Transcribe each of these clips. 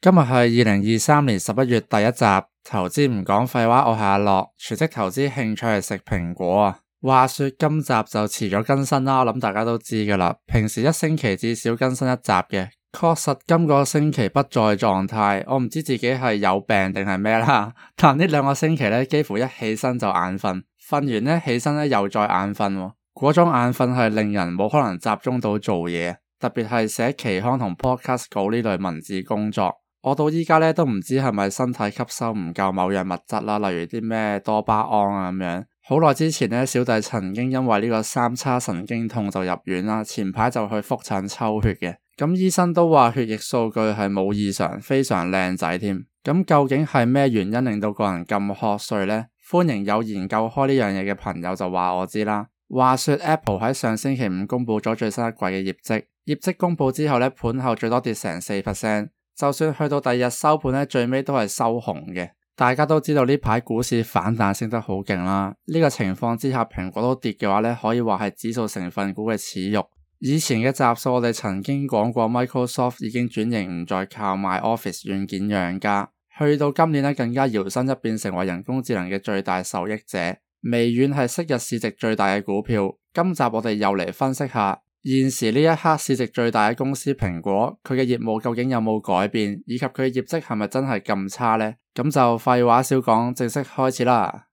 今日係2023年11月第一集，投資唔講廢話，我係阿樂，全職投資興趣係食蘋果啊。話說今集就遲咗更新啦，我諗大家都知㗎啦，平時一星期至少更新一集嘅，確實今個星期不在狀態，我唔知自己係有病定係咩啦，但呢兩個星期呢，幾乎一起身就眼瞓，瞓完呢起身呢又再眼瞓喎，嗰種眼瞓係令人冇可能集中到做嘢，特別係寫期刊同 podcast 稿呢類文字工作。我到依家咧都唔知係咪身體吸收唔夠某樣物質啦，例如啲咩多巴胺啊咁樣。好耐之前咧，小弟曾經因為呢個三叉神經痛就入院啦，前排就去複診抽血嘅。咁醫生都話血液數據係冇異常，非常靚仔添。咁究竟係咩原因令到個人咁瞌睡呢？歡迎有研究開呢樣嘢嘅朋友就話我知啦。話說 Apple 喺上星期五公布咗最新一季嘅業績，業績公布之後咧，盤後最多跌成 4%。就算去到第二日收盤咧，最尾都係收紅嘅。大家都知道呢排股市反彈升得好勁啦，呢個情況之下蘋果都跌嘅話咧，可以話係指數成分股嘅恥辱。以前嘅集數我哋曾經講過 Microsoft 已經轉型唔再靠賣 Office 軟件養家，去到今年咧更加搖身一變成為人工智能嘅最大受益者。微軟係昔日市值最大嘅股票，今集我哋又嚟分析下現時呢一刻市值最大嘅公司蘋果，佢嘅業務究竟有冇改變，以及佢嘅業績係咪真係咁差呢？咁就廢話少講，正式開始啦。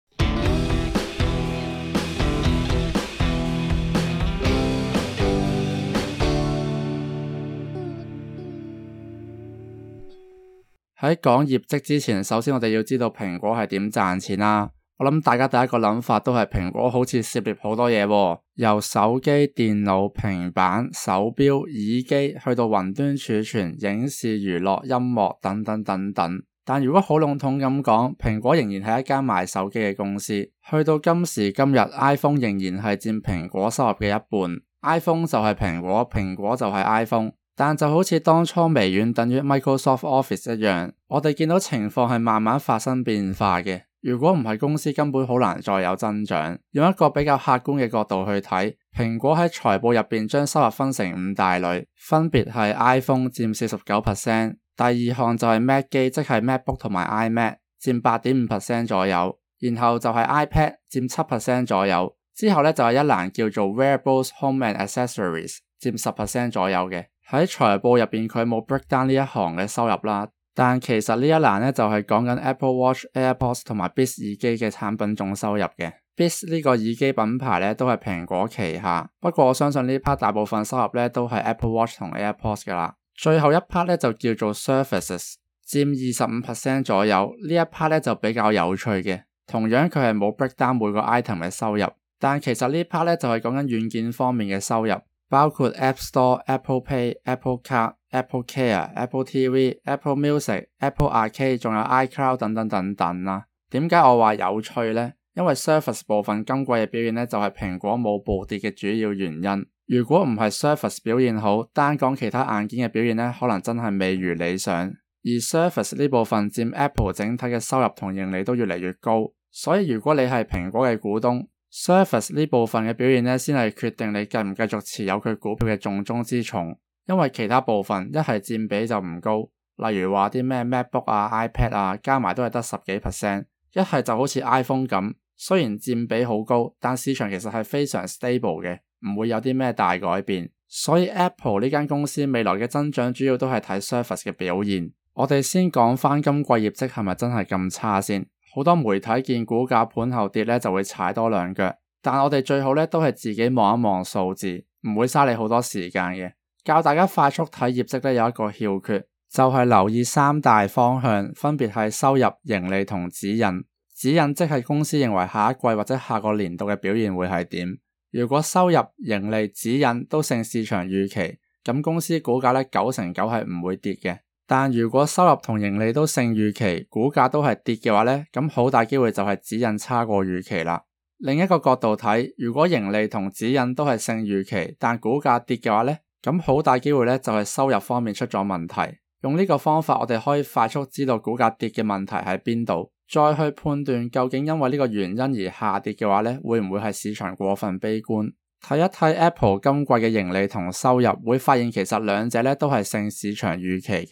喺講業績之前，首先我哋要知道蘋果係點賺錢啦。我諗大家第一個諗法都係蘋果好似涉獵好多嘢喎，由手機、電腦、平板、手錶、耳機去到雲端儲存、影視、娛樂、音樂等等等等。但如果好籠統咁講，蘋果仍然係一間賣手機嘅公司。去到今時今日 ，iPhone 仍然係佔蘋果收入嘅一半。iPhone 就係蘋果，蘋果就係 iPhone。但就好似當初微軟等於 Microsoft Office 一樣，我哋見到情況係慢慢發生變化嘅。如果唔係公司根本好難再有增長。用一個比較客觀嘅角度去睇，蘋果喺財報入邊將收入分成5大類，分別係 iPhone 佔 49%， 第二項就係 Mac 機，即係 MacBook 同埋 iMac 佔 8.5% 左右，然後就係 iPad 佔 7% 左右，之後咧就係一欄叫做 Wearables Home and Accessories 佔 10% 左右嘅。喺財報入邊佢冇 break down 呢一行嘅收入啦。但其實呢一欄咧就係講緊 Apple Watch、AirPods 同埋 Beats 耳機嘅產品總收入嘅。Beats 呢個耳機品牌咧都係蘋果旗下，不過我相信呢 part 大部分收入咧都係 Apple Watch 同 AirPods 噶啦。最後一 part 咧就叫做 Services， 佔 25% 左右。呢一 part 咧就比較有趣嘅，同樣佢係冇 break down 每個 item 嘅收入，但其實呢 part 咧就係講緊軟件方面嘅收入，包括 App Store、Apple Pay、Apple Card、Apple Care、Apple TV、Apple Music、Apple Arcade， 仲有 iCloud 等等等等啦。點解我話有趣呢？因為 Surface 部分今季嘅表現呢，就係蘋果冇暴跌嘅主要原因。如果唔係 Surface 表現好，單講其他硬件嘅表現呢，可能真係未如理想。而 Surface 呢部分佔 Apple 整體嘅收入同盈利都越嚟越高，所以如果你係蘋果嘅股東，Surface 呢部分嘅表現呢，先係決定你繼唔繼續持有佢股票嘅重中之重。因為其他部分一係佔比就唔高，例如話啲咩 MacBook 啊、iPad 啊，加埋都係得10幾%。一係就好似 iPhone 咁，雖然佔比好高，但市場其實係非常 stable 嘅，唔會有啲咩大改變。所以 Apple 呢間公司未來嘅增長主要都係睇 Surface 嘅表現。我哋先講翻今季業績係咪真係咁差先。好多媒體見股價盤後跌咧，就會踩多兩腳。但我哋最好咧都係自己望一望數字，唔會嘥你好多時間嘅。教大家快速睇業績咧，有一個竅訣，就係留意3大方向，分別係收入、盈利同指引。指引即係公司認為下一季或者下個年度嘅表現會係點。如果收入、盈利、指引都勝市場預期，咁公司股價咧9成9係唔會跌嘅。但如果收入同盈利都勝預期，股價都係跌嘅話咧，咁好大機會就係指引差過預期啦。另一個角度睇，如果盈利同指引都係勝預期，但股價跌嘅話咧，咁好大機會咧就係收入方面出咗問題。用呢個方法，我哋可以快速知道股價跌嘅問題喺邊度，再去判斷究竟因為呢個原因而下跌嘅話咧，會唔會係市場過分悲觀？睇一睇 Apple 今季嘅盈利同收入，會發現其實兩者咧都係勝市場預期嘅。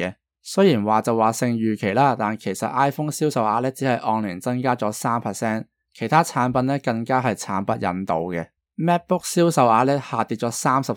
雖然話就話勝預期啦，但其實 iPhone 銷售額咧只係按年增加咗 3%， 其他產品咧更加係慘不忍睹嘅。MacBook 銷售額咧下跌咗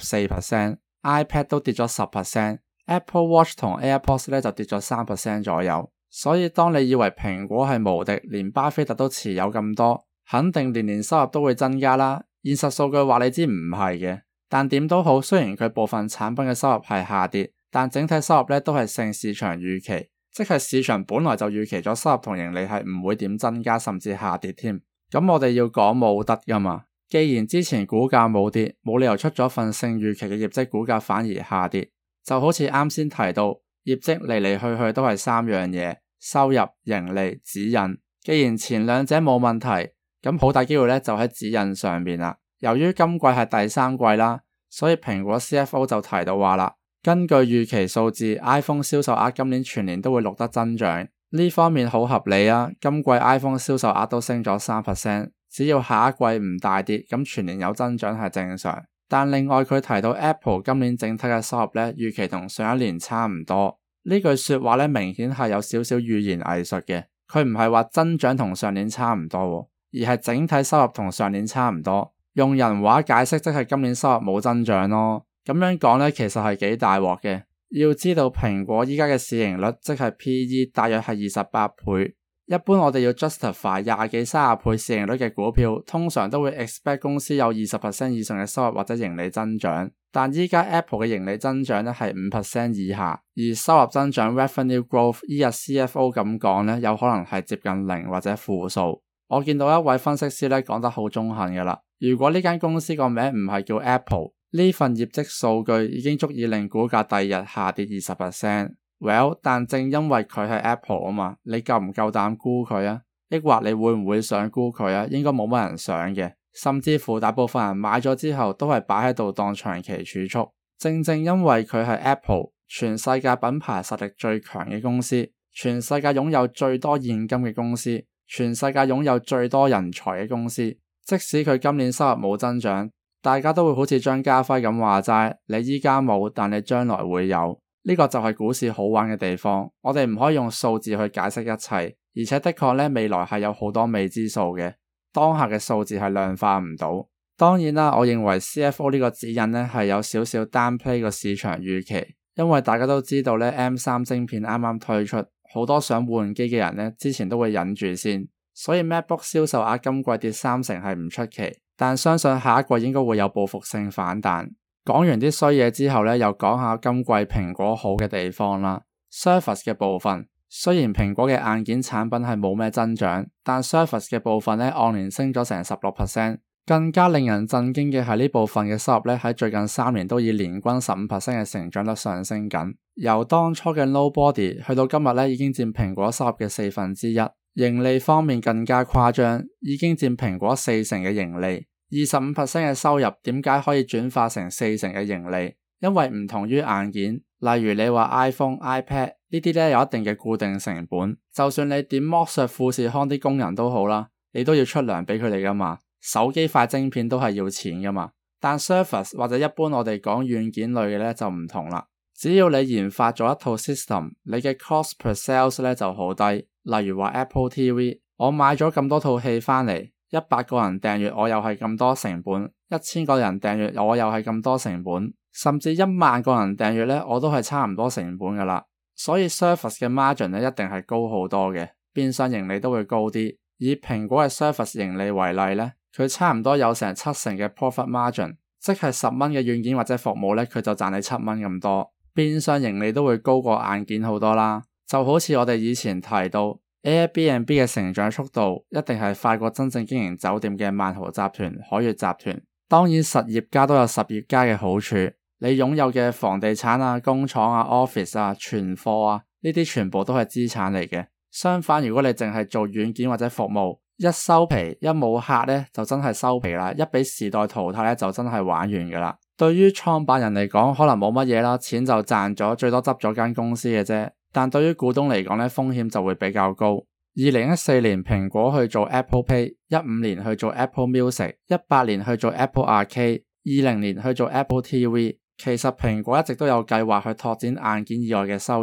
34%， iPad 都跌咗 10%， Apple Watch 同 AirPods 咧就跌咗 3% 左右。所以當你以為蘋果係無敵，連巴菲特都持有咁多，肯定年年收入都會增加啦。現實數據話你知唔係嘅，但點都好，雖然佢部分產品嘅收入係下跌，但整體收入咧都係勝市場預期，即係市場本來就預期咗收入同盈利係唔會點增加，甚至下跌添。咁我哋要講冇得噶嘛，既然之前股價冇跌，冇理由出咗份勝預期嘅業績，股價反而下跌。就好似啱先提到，業績嚟嚟去去都係3樣嘢：收入、盈利、指引。既然前兩者冇問題，咁好大機會咧就喺指引上面啦。由於今季係第3季啦，所以蘋果 CFO 就提到話啦，根據預期數字 ，iPhone 銷售額今年全年都會錄得增長。呢方面好合理啊，今季 iPhone 銷售額都升咗 3%， 只要下一季唔大跌，咁全年有增長係正常。但另外佢提到 Apple 今年整體嘅收入咧，預期同上一年差唔多。呢句說話咧，明顯係有少少語言藝術嘅，佢唔係話增長同上年差唔多，而係整體收入同上年差唔多。用人話解釋，即係今年收入冇增長咯。咁樣講咧，其實係幾大鑊嘅。要知道蘋果依家嘅市盈率即係 PE 大約係28倍。一般我哋要 justify 20幾30倍市盈率嘅股票，通常都會 expect 公司有20% 以上嘅收入或者盈利增長。但依家 Apple 嘅盈利增長咧係5% 以下，而收入增長 revenue growth 依日 CFO 咁講咧，有可能係接近0或者負數。我見到一位分析師咧講得好中肯嘅啦，如果呢間公司個名唔係叫 Apple， 呢份業績數據已經足以令股價第二日下跌 20%。Well， 但正因為佢係 Apple 啊嘛，你夠唔夠膽沽佢啊？抑或你會唔會想沽佢啊？應該冇乜人想嘅，甚至乎大部分人買咗之後都係擺喺度當長期儲蓄。正正因為佢係 Apple， 全世界品牌實力最強嘅公司，全世界擁有最多現金嘅公司，全世界擁有最多人才嘅公司，即使佢今年收入冇增長，大家都會好似張家輝咁話齋，你依家冇，但你將來會有。呢個就係股市好玩嘅地方，我哋唔可以用數字去解釋一切，而且的確咧未來係有好多未知數嘅，當下嘅數字係量化唔到。當然啦，我認為 CFO 呢個指引咧係有少少 downplay 個市場預期，因為大家都知道咧 M3 晶片啱啱推出，好多想換機嘅人咧之前都會忍住先，所以 MacBook 銷售額今季跌30%係唔出奇，但相信下一季應該會有報復性反彈。講完啲衰嘢之後咧，又講下今季蘋果好嘅地方啦。Surface 嘅部分，雖然蘋果嘅硬件產品係冇咩增長，但 Surface 嘅部分咧按年升咗成 16%。更加令人震驚嘅係呢部分嘅收入咧喺最近3年都以年均 15% 嘅成長率上升緊，由當初嘅 Nobody 去到今日咧已經佔蘋果收入嘅1/4。盈利方面更加誇張，已經佔蘋果40%嘅盈利。25% 嘅收入點解可以轉化成40%嘅盈利？因為唔同於硬件，例如你話 iPhone、iPad 呢啲咧有一定嘅固定成本，就算你點剝削富士康啲工人都好啦，你都要出糧俾佢哋噶嘛。手機塊晶片都係要錢噶嘛。但 Surface 或者一般我哋講軟件類嘅咧就唔同啦，只要你研發咗一套 system， 你嘅 cost per sales 咧就好低。例如話 Apple TV， 我買咗咁多套戲翻嚟。100個人訂閱我又係咁多成本，1000個人訂閱我又係咁多成本，甚至10000個人訂閱咧我都係差唔多成本噶啦。所以 Surface 嘅 margin 咧一定係高好多嘅，變相盈利都會高啲。以蘋果嘅 Surface 盈利為例咧，佢差唔多有成70%嘅 profit margin， 即係10蚊嘅軟件或者服務咧佢就賺你7蚊咁多，變相盈利都會高過硬件好多啦。就好似我哋以前提到Airbnb 嘅成長速度一定係快過真正經營酒店嘅萬豪集團、海悅集團。當然實業家都有實業家嘅好處，你擁有嘅房地產啊、工廠啊、office 啊、存貨啊，呢啲全部都係資產嚟嘅。相反，如果你淨係做軟件或者服務，一收皮一冇客咧就真係收皮啦，一俾時代淘汰咧就真係玩完噶啦。對於創辦人嚟講可能冇乜嘢啦，錢就賺咗，最多執咗間公司嘅啫。但對於股東嚟講咧，風險就會比較高。2014年蘋果去做 Apple Pay，15年去做 Apple Music，18年去做 Apple Arcade，20年去做 Apple TV。其實蘋果一直都有計劃去拓展硬件以外嘅收入，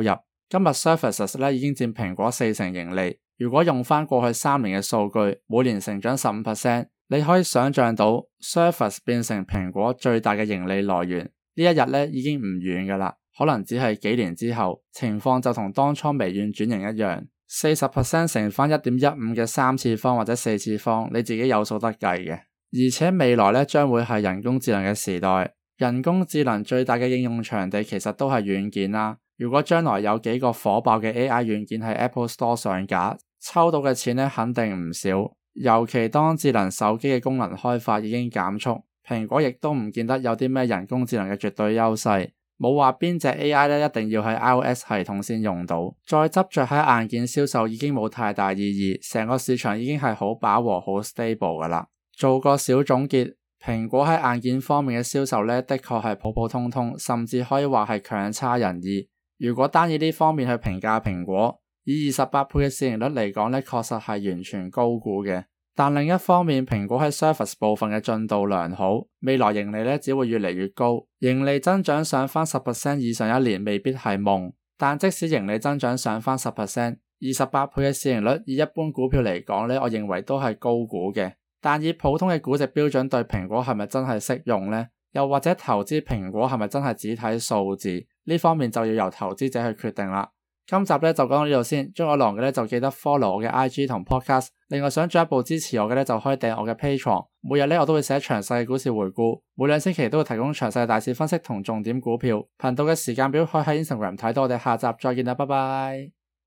今日 Services 咧已經佔蘋果40%盈利。如果用返過去3年嘅數據，每年成長 15%， 你可以想象到 Service 變成蘋果最大嘅盈利來源。呢一日咧已經唔遠㗎啦，可能只係幾年之後，情況就同當初微軟轉型一樣。40% 乘返 1.15 嘅3次方或者4次方，你自己有數得計嘅。而且未來咧將會係人工智能嘅時代，人工智能最大嘅應用場地其實都係軟件啦。如果將來有幾個火爆嘅 AI 軟件喺 Apple Store 上架，抽到嘅錢咧肯定唔少。尤其當智能手機嘅功能開發已經減速，蘋果亦都唔見得有啲咩人工智能嘅絕對優勢。冇話邊隻 AI 咧一定要喺 iOS 系統先用到，再執着喺硬件銷售已經冇太大意義，成個市場已經係好飽和好 stable 噶啦。做個小總結，蘋果喺硬件方面嘅銷售咧的確係普普通通，甚至可以話係強差人意。如果單以呢方面去評價蘋果，以28倍嘅市盈率嚟講咧，確實係完全高估嘅。但另一方面，蘋果喺 Service 部分嘅進度良好，未來盈利咧只會越嚟越高，盈利增長上返 10% 以上一年未必係夢。但即使盈利增長上返 10%， 28倍嘅市盈率以一般股票嚟講咧，我認為都係高估嘅。但以普通嘅估值標準對蘋果係咪真係適用呢？又或者投資蘋果係咪真係只睇數字？呢方面就要由投資者去決定啦。今集咧就講到呢度先，中意我嘅咧就記得 follow 我嘅 IG 同 podcast。另外想進一步支持我嘅咧就可以訂我嘅 Patreon。每日咧我都會寫詳細嘅股市回顧，每2星期都會提供詳細嘅大市分析同重點股票。頻道嘅時間表可以喺 Instagram 睇到。我哋下集再見啦，拜拜。